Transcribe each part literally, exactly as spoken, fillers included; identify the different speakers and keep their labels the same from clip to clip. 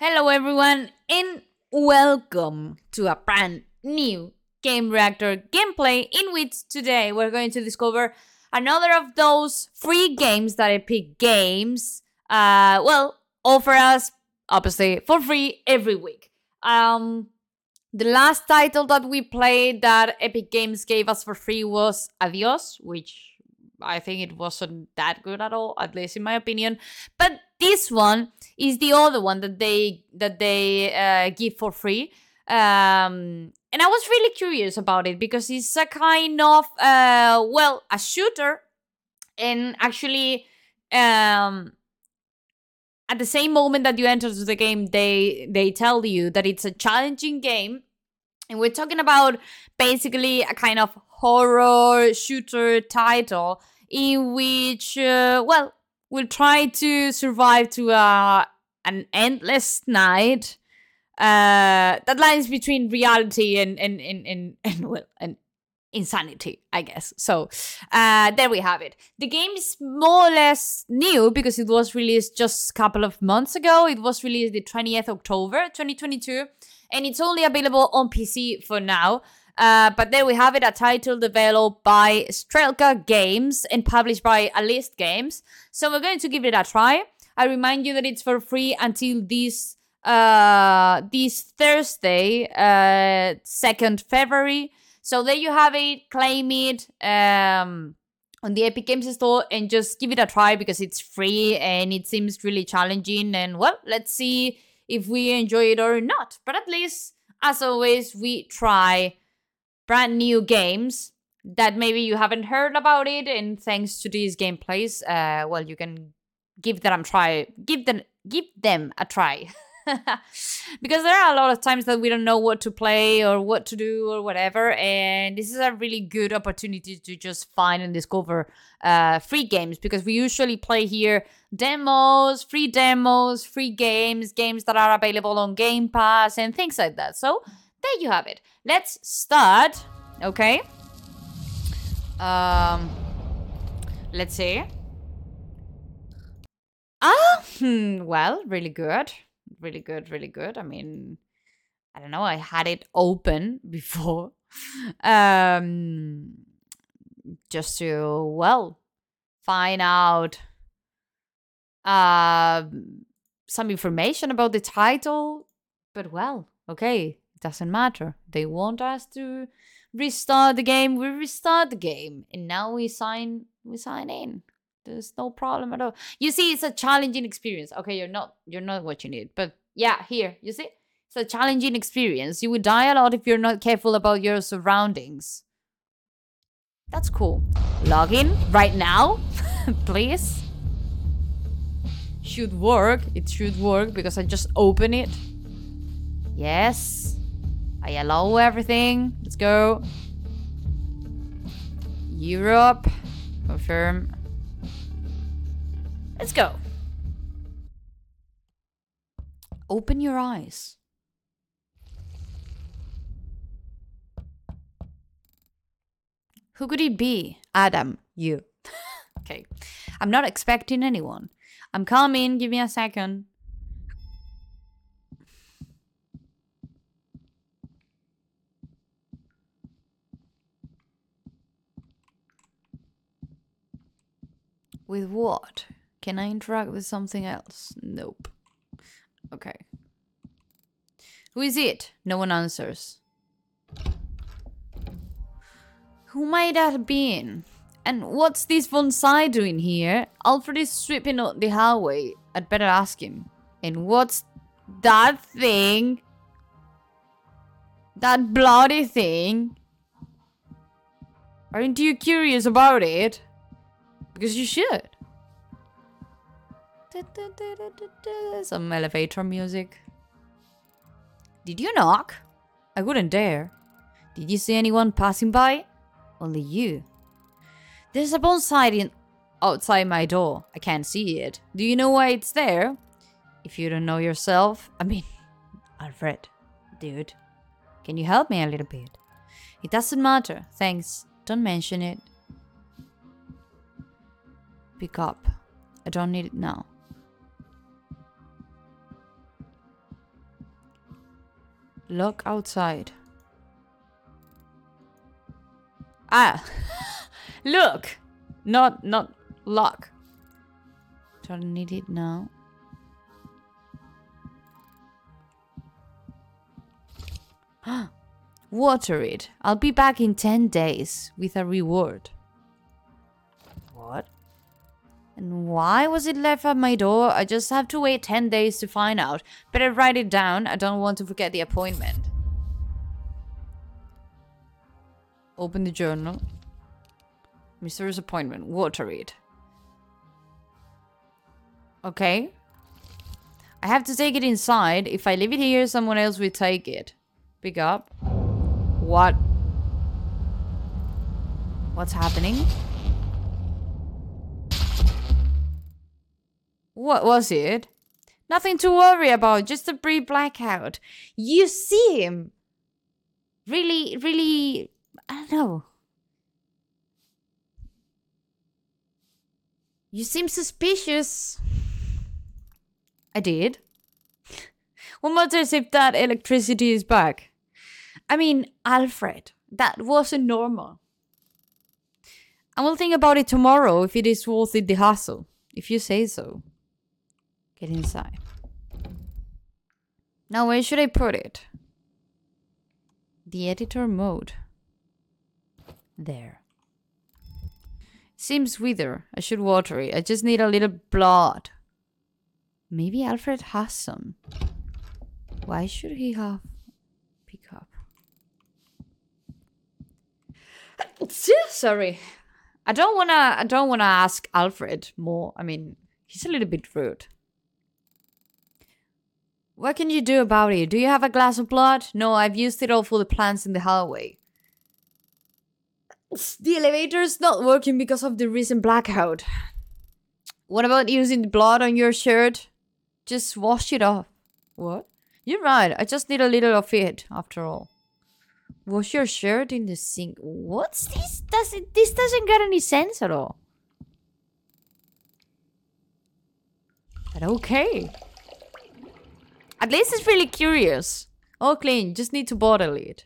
Speaker 1: Hello, everyone, and welcome to a brand new Game Reactor gameplay in which today we're going to discover another of those free games that Epic Games, uh, well, offer us, obviously, for free every week. Um, the last title that we played that Epic Games gave us for free was Adios, which I think it wasn't that good at all, at least in my opinion. But this one is the other one that they that they uh, give for free. Um, and I was really curious about it because it's a kind of uh, well, a shooter, and actually, um, at the same moment that you enter to the game, they they tell you that it's a challenging game, and we're talking about basically a kind of horror shooter title in which, uh, well, we'll try to survive to uh, an endless night uh, that lies between reality and and and and, and well and insanity, I guess. So uh, there we have it. The game is more or less new because it was released just a couple of months ago. It was released the twentieth of October twenty twenty-two, and it's only available on P C for now. Uh, but there we have it, a title developed by Strelka Games and published by Alist Games. So we're going to give it a try. I remind you that it's for free until this uh, this Thursday, uh, second February. So there you have it. Claim it um, on the Epic Games Store and just give it a try because it's free and it seems really challenging. And well, let's see if we enjoy it or not. But at least, as always, we try brand new games that maybe you haven't heard about it, and thanks to these gameplays, uh, well, you can give them a try. Give them, give them a try, because there are a lot of times that we don't know what to play or what to do or whatever, and this is a really good opportunity to just find and discover uh, free games, because we usually play here demos, free demos, free games, games that are available on Game Pass and things like that. So there you have it. Let's start, okay? Um, let's see. Ah, hmm, well, really good. Really good, really good. I mean, I don't know, I had it open before. Um, just to, well, find out uh, some information about the title. But, well, okay. Doesn't matter. They want us to restart the game. We restart the game, and now we sign. We sign in. There's no problem at all. You see, it's a challenging experience. Okay, you're not. You're not watching it, but yeah, here you see, it's a challenging experience. You would die a lot if you're not careful about your surroundings. That's cool. Log in right now, please. Should work. It should work because I just open it. Yes. I allow everything. Let's go. Europe. Confirm. Let's go. Open your eyes. Who could it be? Adam, you. Okay. I'm not expecting anyone. I'm coming. Give me a second. With what? Can I interact with something else? Nope. Okay. Who is it? No one answers. Who might that have been? And what's this Von Sai doing here? Alfred is sweeping out the hallway. I'd better ask him. And what's that thing? That bloody thing? Aren't you curious about it? Because you should. Some elevator music. Did you knock? I wouldn't dare. Did you see anyone passing by? Only you. There's a bonsai in outside my door. I can't see it. Do you know why it's there? If you don't know yourself, I mean, Alfred, dude, can you help me a little bit? It doesn't matter. Thanks. Don't mention it. Pick up. I don't need it now. Look outside. Ah! Look! Not, not lock. Don't need it now. Water it. I'll be back in ten days with a reward. What? And why was it left at my door? I just have to wait ten days to find out. Better write it down. I don't want to forget the appointment. Open the journal. Mysterious appointment. Water it. Okay. I have to take it inside. If I leave it here, someone else will take it. Pick up. What? What's happening? What was it? Nothing to worry about, just a brief blackout. You seem really, really, I don't know. You seem suspicious. I did. What matters if that electricity is back? I mean, Alfred, that wasn't normal. I will think about it tomorrow if it is worth it the hassle. If you say so. Get inside. Now where should I put it? The editor mode. There. Seems wither. I should water it. I just need a little blood. Maybe Alfred has some. Why should he have pick up? Sorry. I don't wanna I don't wanna ask Alfred more. I mean, he's a little bit rude. What can you do about it? Do you have a glass of blood? No, I've used it all for the plants in the hallway. The elevator's not working because of the recent blackout. What about using the blood on your shirt? Just wash it off. What? You're right, I just need a little of it, after all. Wash your shirt in the sink. What's this? Does it, this doesn't get any sense at all. But okay. At least it's really curious. All clean, just need to bottle it.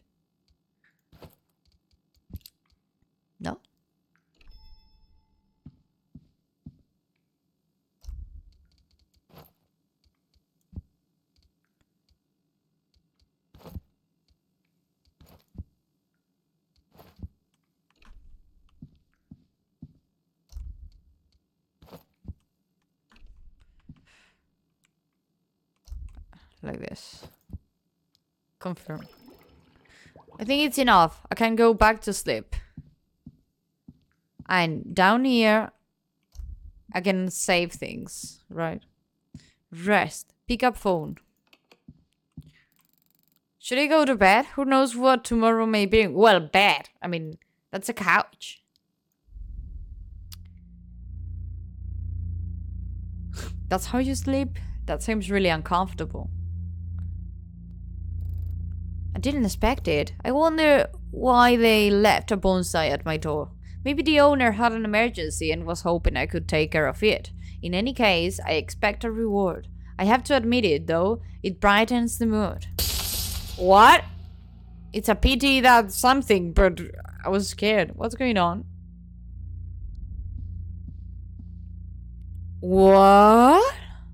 Speaker 1: No? Like this. Confirm. I think it's enough. I can go back to sleep. And down here, I can save things, right? Rest. Pick up phone. Should I go to bed? Who knows what tomorrow may bring? Well, bed. I mean, that's a couch. That's how you sleep? That seems really uncomfortable. I didn't expect it. I wonder why they left a bonsai at my door. Maybe the owner had an emergency and was hoping I could take care of it. In any case, I expect a reward. I have to admit it, though. It brightens the mood. What? It's a pity that something, but I was scared. What's going on? What?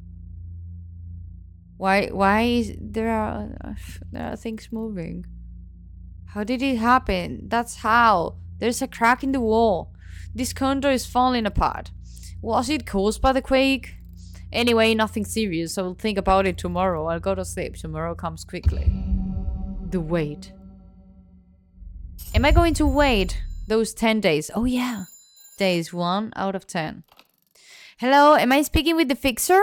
Speaker 1: Why, why is there are, there are things moving? How did it happen? That's how. There's a crack in the wall. This condo is falling apart. Was it caused by the quake? Anyway, nothing serious. I'll think about it tomorrow. I'll go to sleep. Tomorrow comes quickly. The wait. Am I going to wait those ten days? Oh yeah. Days one out of ten. Hello, am I speaking with the fixer?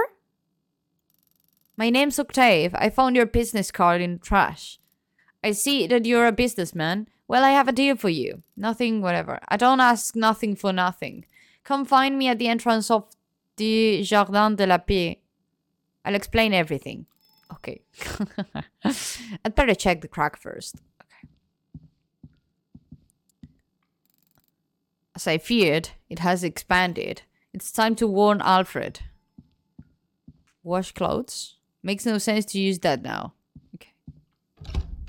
Speaker 1: My name's Octave. I found your business card in the trash. I see that you're a businessman. Well, I have a deal for you. Nothing, whatever. I don't ask nothing for nothing. Come find me at the entrance of the Jardin de la Paix. I'll explain everything. Okay. I'd better check the crack first. Okay. As I feared, it has expanded. It's time to warn Alfred. Wash clothes? Makes no sense to use that now. Okay.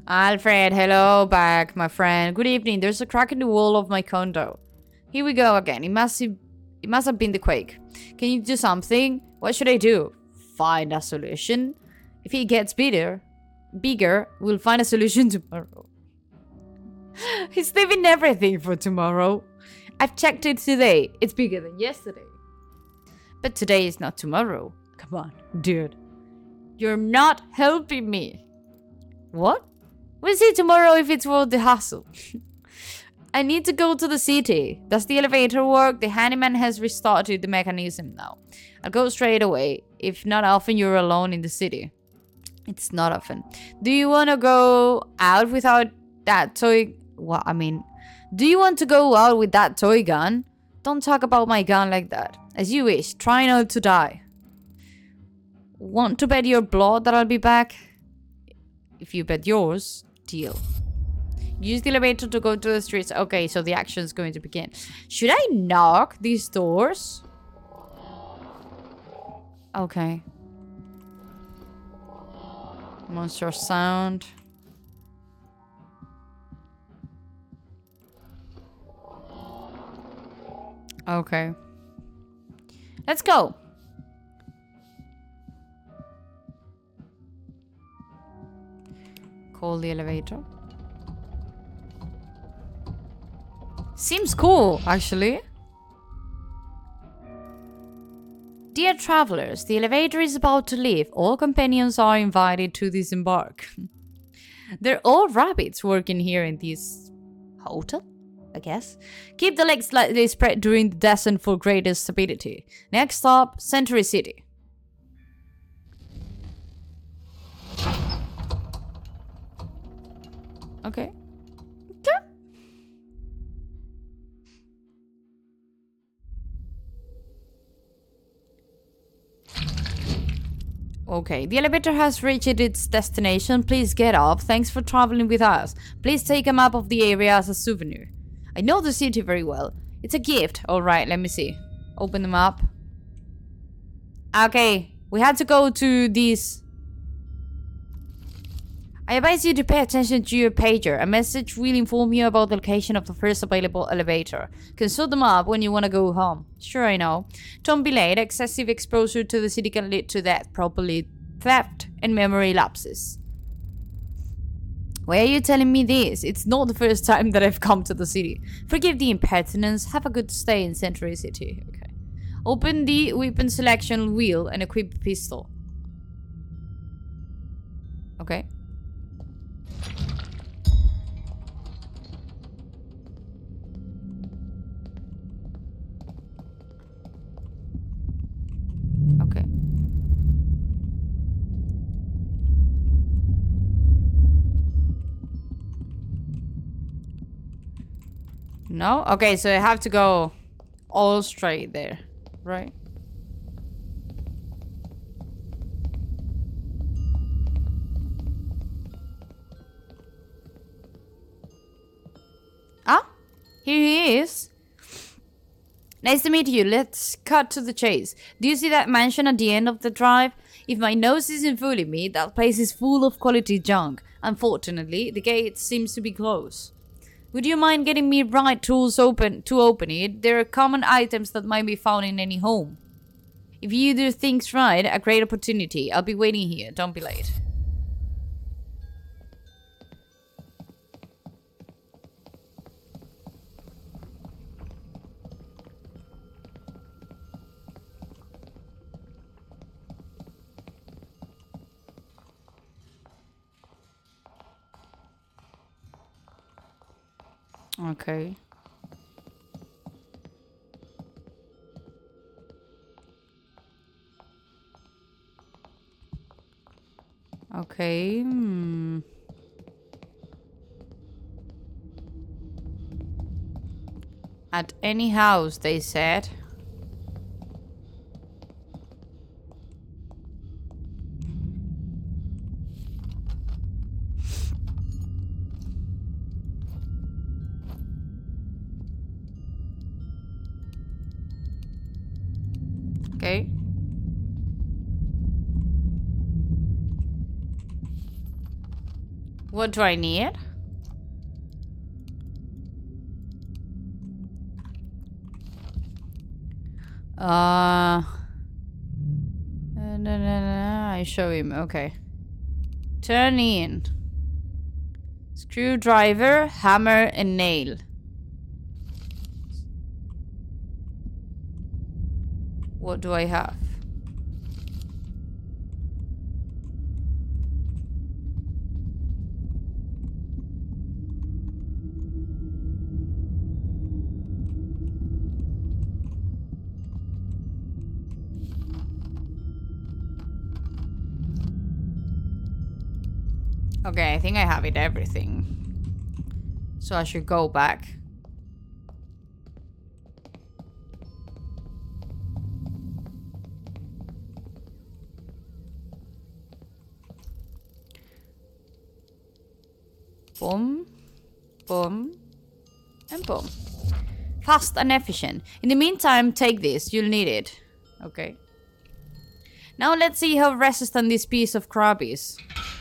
Speaker 1: Alfred, hello back, my friend. Good evening. There's a crack in the wall of my condo. Here we go again. It must have, it must have been the quake. Can you do something? What should I do? Find a solution. If it gets bigger, bigger, we'll find a solution tomorrow. He's leaving everything for tomorrow. I've checked it today. It's bigger than yesterday. But today is not tomorrow. Come on, dude. You're not helping me. What? We'll see tomorrow if it's worth the hassle. I need to go to the city. Does the elevator work? The handyman has restarted the mechanism now. I'll go straight away. If not often you're alone in the city. It's not often. Do you want to go out without that toy? Well, I mean, do you want to go out with that toy gun? Don't talk about my gun like that. As you wish. Try not to die. Want to bet your blood that I'll be back? If you bet yours, deal. Use the elevator to go to the streets. Okay, so the action is going to begin. Should I knock these doors? Okay. Monster sound. Okay. Let's go. Call the elevator. Seems cool, actually. Dear travelers, the elevator is about to leave. All companions are invited to disembark. They're all rabbits working here in this hotel, I guess. Keep the legs slightly spread during the descent for greater stability. Next stop, Century City. Okay. Okay. Okay, the elevator has reached its destination. Please get off. Thanks for traveling with us. Please take a map of the area as a souvenir. I know the city very well. It's a gift. Alright, let me see. Open the map. Okay, we had to go to this. I advise you to pay attention to your pager. A message will inform you about the location of the first available elevator. Consult the map when you want to go home. Sure, I know. Don't be late. Excessive exposure to the city can lead to death, probably theft and memory lapses. Why are you telling me this? It's not the first time that I've come to the city. Forgive the impertinence. Have a good stay in Century City. Okay. Open the weapon selection wheel and equip a pistol. Okay. Okay. No? Okay, so I have to go all straight there, right? Ah, here he is. Nice to meet you. Let's cut to the chase. Do you see that mansion at the end of the drive? If my nose isn't fooling me, that place is full of quality junk. Unfortunately, the gate seems to be closed. Would you mind getting me right tools open to open it? There are common items that might be found in any home. If you do things right, a great opportunity. I'll be waiting here. Don't be late. Okay. Okay. Hmm. At any house, they said. Okay. What do I need? Uh... No, no, no, no. I show him. Okay. Turn in. Screwdriver, hammer, and nail. What do I have? Okay, I think I have it everything. So I should go back. Boom, boom, and boom. Fast and efficient. In the meantime, take this. You'll need it. Okay. Now let's see how resistant this piece of crap is.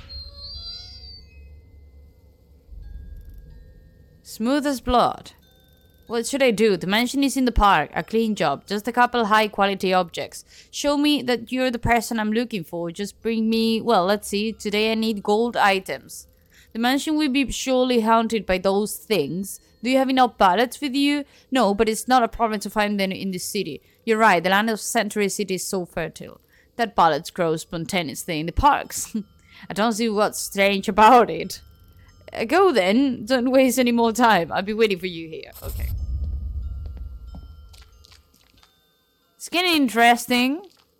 Speaker 1: Smooth as blood. What should I do? The mansion is in the park. A clean job. Just a couple high quality objects. Show me that you're the person I'm looking for. Just bring me... Well, let's see. Today I need gold items. The mansion will be surely haunted by those things. Do you have enough ballots with you? No, but it's not a problem to find them in this city. You're right. The land of Century City is so fertile. That ballots grow spontaneously in the parks. I don't see what's strange about it. Go then. Don't waste any more time. I'll be waiting for you here. Okay. It's getting interesting.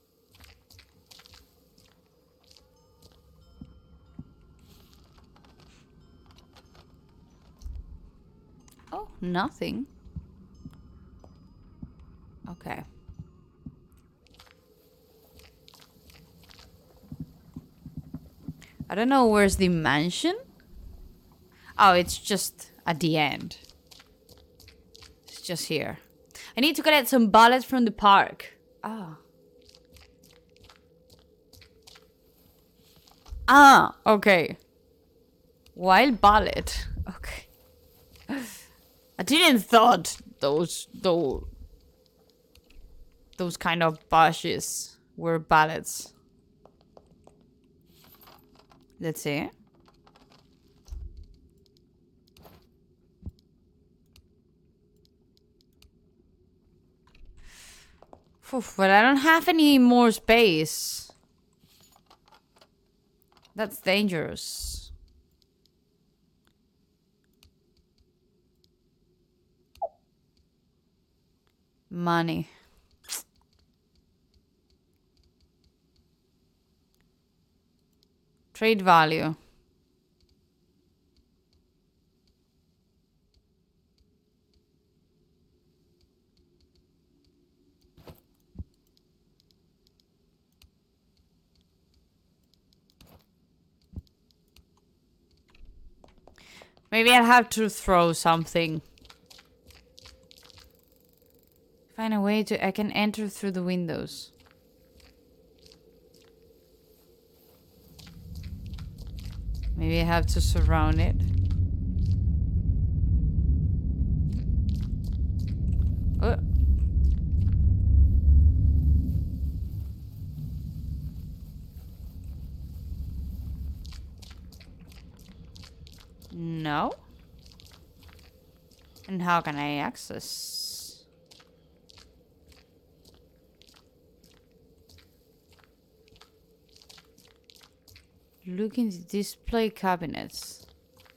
Speaker 1: Oh, nothing. Okay. I don't know where's the mansion. Oh, it's just at the end. It's just here. I need to collect some ballots from the park. Ah. Ah, okay. Wild ballot. Okay. I didn't thought those those those kind of bushes were ballots. Let's see. Oof, but I don't have any more space. That's dangerous. Money. Trade value. Maybe I'll have to throw something. Find a way to... I can enter through the windows. Maybe I have to surround it. Oh. No. And how can I access? Look in the display cabinets.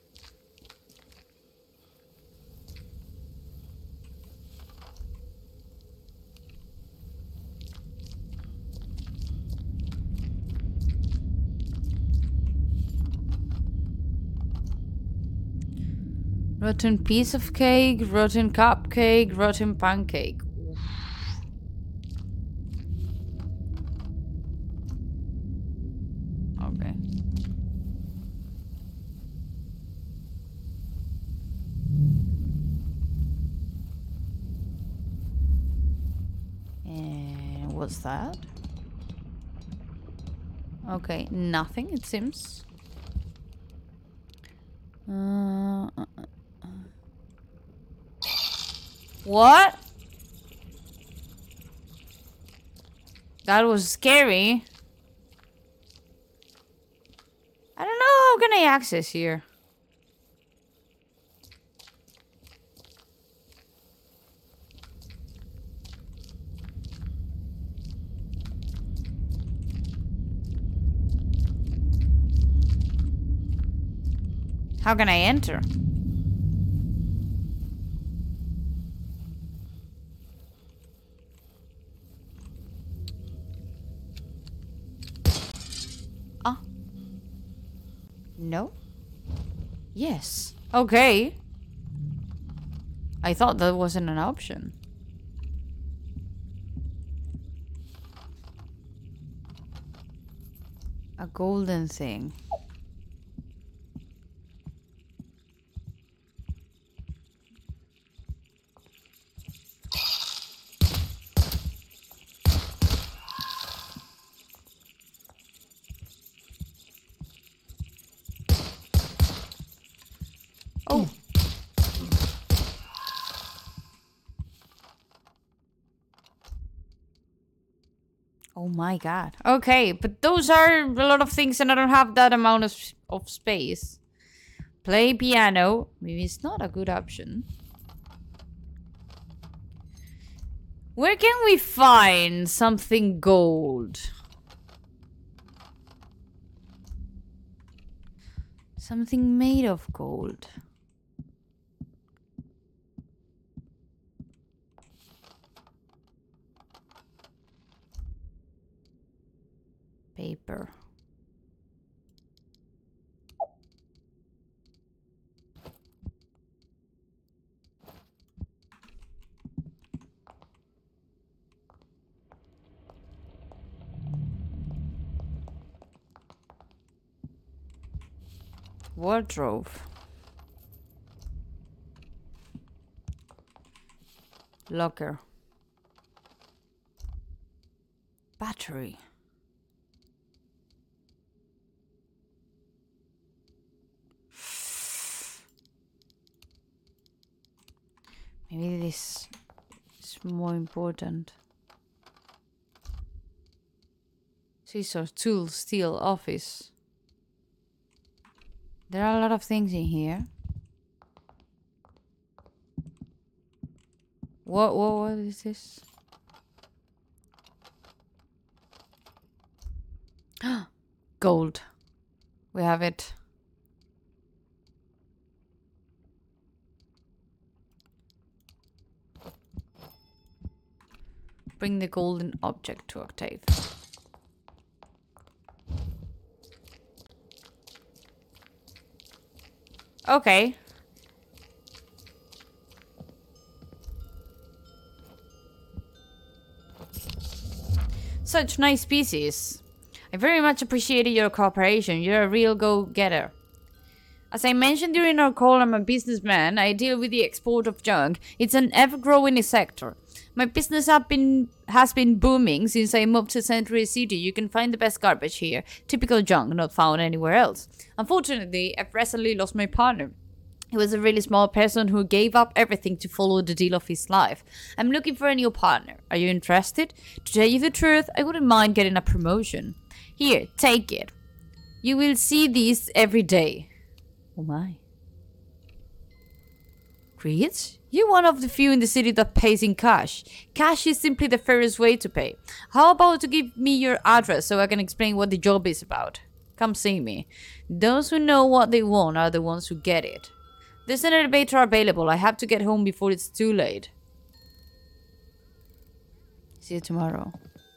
Speaker 1: Rotten piece of cake, rotten cupcake, rotten pancake. Oof. Okay. And what's that? Okay, nothing, it seems. Uh, uh, uh. What? That was scary. I don't know how can I access here. How can I enter? Ah. No? Yes. Okay. I thought that wasn't an option. A golden thing. Oh. Oh my god. Okay, but those are a lot of things and I don't have that amount of, of space. Play piano. Maybe it's not a good option. Where can we find something gold? Something made of gold. Paper. Wardrobe. Locker. Battery. Maybe this is more important. Scissors, tools, steel, office. There are a lot of things in here. What, what, what is this? Gold. We have it. Bring the golden object to Octave. Okay. Such nice pieces. I very much appreciated your cooperation. You're a real go-getter. As I mentioned during our call, I'm a businessman. I deal with the export of junk. It's an ever-growing sector. My business have been, has been booming since I moved to Century City. You can find the best garbage here. Typical junk, not found anywhere else. Unfortunately, I've recently lost my partner. He was a really small person who gave up everything to follow the deal of his life. I'm looking for a new partner. Are you interested? To tell you the truth, I wouldn't mind getting a promotion. Here, take it. You will see these every day. Oh my. Creeds? You're one of the few in the city that pays in cash. Cash is simply the fairest way to pay. How about to give me your address so I can explain what the job is about? Come see me. Those who know what they want are the ones who get it. There's an elevator available. I have to get home before it's too late. See you tomorrow.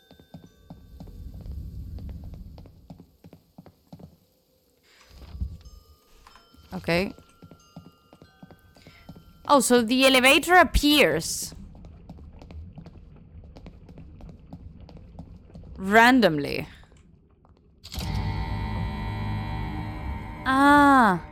Speaker 1: Okay. Oh, so the elevator appears randomly. Ah.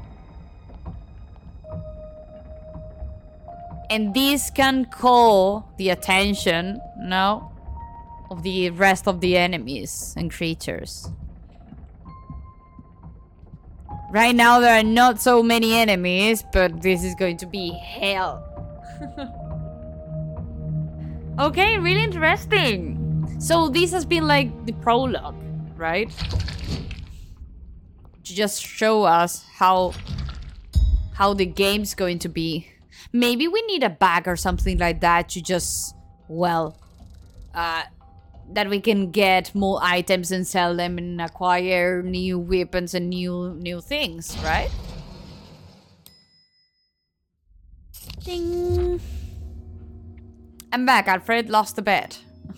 Speaker 1: And this can call the attention, no, of the rest of the enemies and creatures. Right now there are not so many enemies, but this is going to be hell. Okay, really interesting. So this has been like the prologue, right? To just show us how how the game's going to be. Maybe we need a bag or something like that to just, well, uh, that we can get more items and sell them and acquire new weapons and new new things, right? Ding. I'm back. Alfred lost the bet.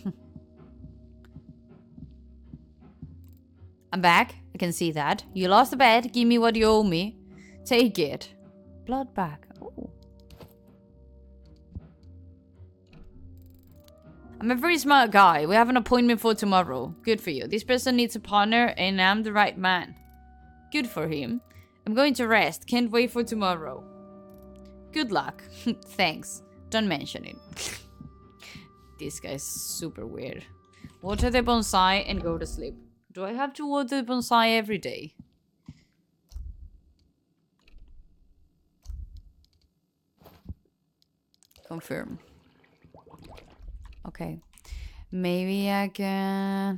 Speaker 1: I'm back. I can see that. You lost the bet. Give me what you owe me. Take it. Blood bag. Oh. I'm a very smart guy. We have an appointment for tomorrow. Good for you. This person needs a partner and I'm the right man. Good for him. I'm going to rest. Can't wait for tomorrow. Good luck. Thanks. Don't mention it. This guy's super weird. Water the bonsai and go to sleep. Do I have to water the bonsai every day? Confirm. Okay. Maybe I can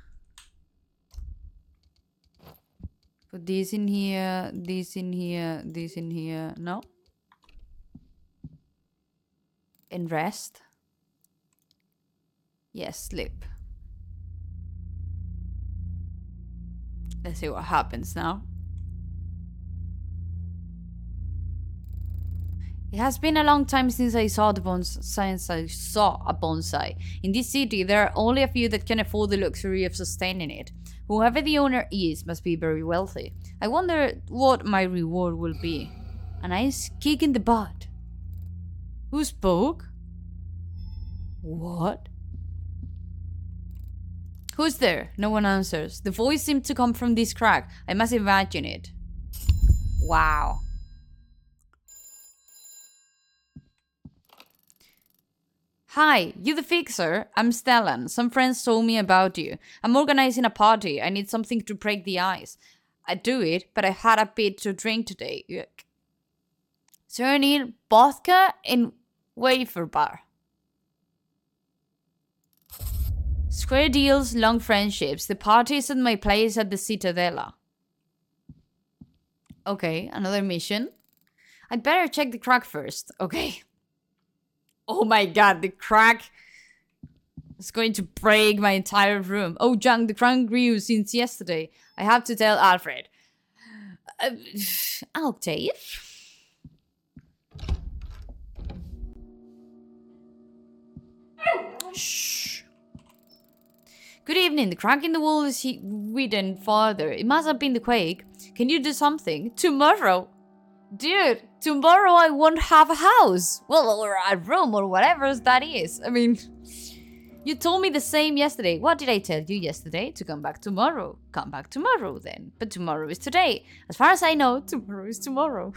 Speaker 1: put this in here, this in here, this in here. No? And rest. Yes, sleep. Let's see what happens now. It has been a long time since I saw the bonsai. Since I saw a bonsai. In this city, there are only a few that can afford the luxury of sustaining it. Whoever the owner is must be very wealthy. I wonder what my reward will be. A nice kick in the butt. Who spoke? What? Who's there? No one answers. The voice seemed to come from this crack. I must imagine it. Wow. Hi, you the fixer? I'm Stellan. Some friends told me about you. I'm organizing a party. I need something to break the ice. I'd do it, but I had a bit to drink today. Yuck. So I need vodka and wafer bar. Square deals, long friendships. The party is at my place at the Citadella. Okay, another mission. I'd better check the crack first. Okay. Oh my god, the crack is going to break my entire room. Oh, junk, the crack grew since yesterday. I have to tell Alfred. Uh, Octave? Shh. Good evening. The crack in the wall is hidden farther. It must have been the quake. Can you do something? Tomorrow? Dude, tomorrow I won't have a house. Well, or a room or whatever that is. I mean, you told me the same yesterday. What did I tell you yesterday? To come back tomorrow. Come back tomorrow then. But tomorrow is today. As far as I know, tomorrow is tomorrow.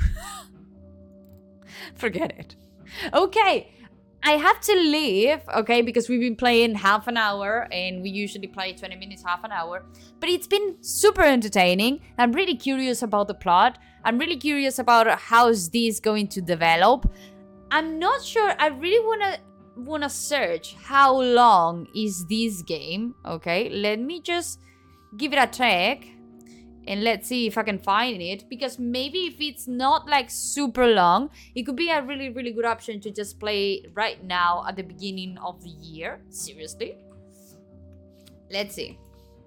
Speaker 1: Forget it. Okay. I have to leave, okay, because we've been playing half an hour and we usually play twenty minutes, half an hour. But it's been super entertaining. I'm really curious about the plot. I'm really curious about how is this going to develop. I'm not sure. I really want to want to search how long is this game, okay? Let me just give it a check. And let's see if I can find it. Because maybe if it's not like super long, it could be a really, really good option to just play right now at the beginning of the year. Seriously. Let's see.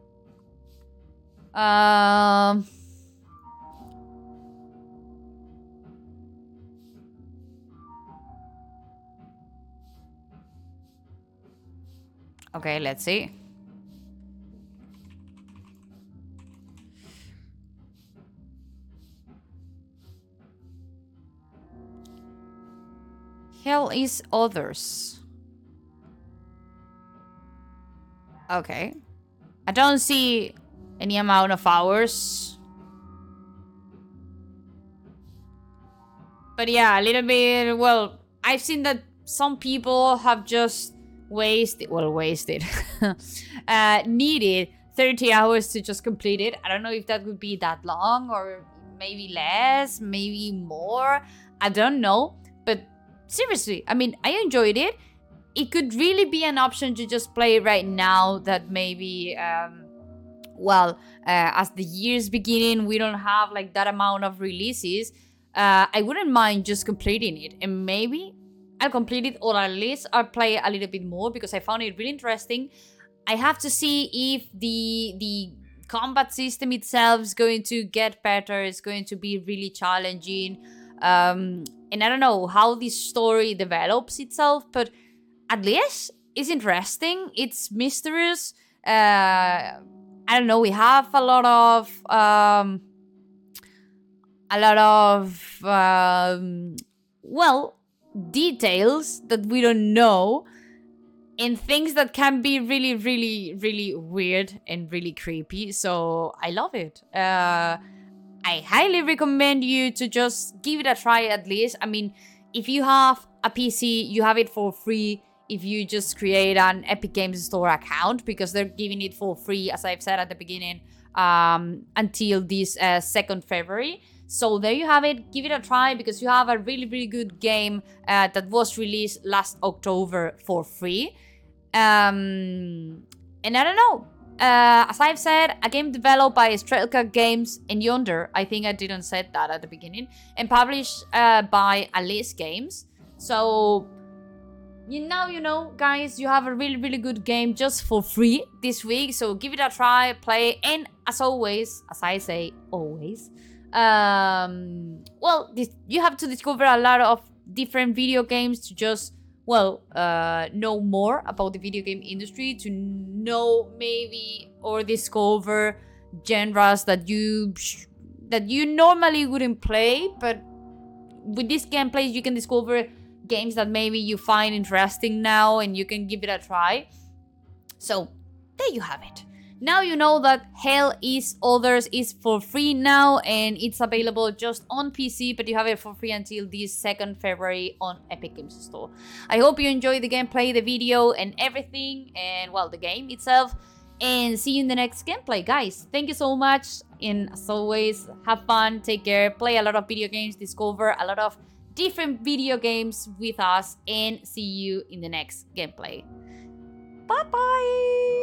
Speaker 1: Um... Okay, let's see. Hell is others. Okay. I don't see any amount of hours. But yeah, a little bit, well, I've seen that some people have just wasted, well, wasted, uh, needed thirty hours to just complete it. I don't know if that would be that long or maybe less, maybe more. I don't know. But seriously, I mean, I enjoyed it. It could really be an option to just play right now that maybe, um, well, uh, as the year's beginning, we don't have like that amount of releases. Uh, I wouldn't mind just completing it. And maybe I'll complete it, or at least I'll play a little bit more because I found it really interesting. I have to see if the the combat system itself is going to get better. It's going to be really challenging. Um, and I don't know how this story develops itself, but at least it's interesting. It's mysterious. Uh, I don't know. We have a lot of um, a lot of um, well, details that we don't know, and things that can be really, really, really weird and really creepy. So I love it. Uh, I highly recommend you to just give it a try at least. I mean, if you have a P C, you have it for free if you just create an Epic Games Store account, because they're giving it for free, as I've said at the beginning, um, until this uh, second February. So there you have it. Give it a try because you have a really, really good game uh, that was released last October for free. Um, and I don't know. Uh, as I've said, a game developed by Strelka Games and Yonder. I think I didn't say that at the beginning. And published uh, by Alice Games. So, you know, you know, guys, you have a really, really good game just for free this week. So give it a try, play. And as always, as I say, always, um, well, this, you have to discover a lot of different video games to just, well, uh, know more about the video game industry, to know maybe or discover genres that you that you normally wouldn't play, but with this gameplay you can discover games that maybe you find interesting now and you can give it a try. So there you have it. Now you know that Hell is Others is for free now, and it's available just on P C, but you have it for free until this second February on Epic Games Store. I hope you enjoyed the gameplay, the video, and everything, and well, the game itself. And see you in the next gameplay, guys. Thank you so much, and as always, have fun, take care, play a lot of video games, discover a lot of different video games with us, and see you in the next gameplay. Bye bye!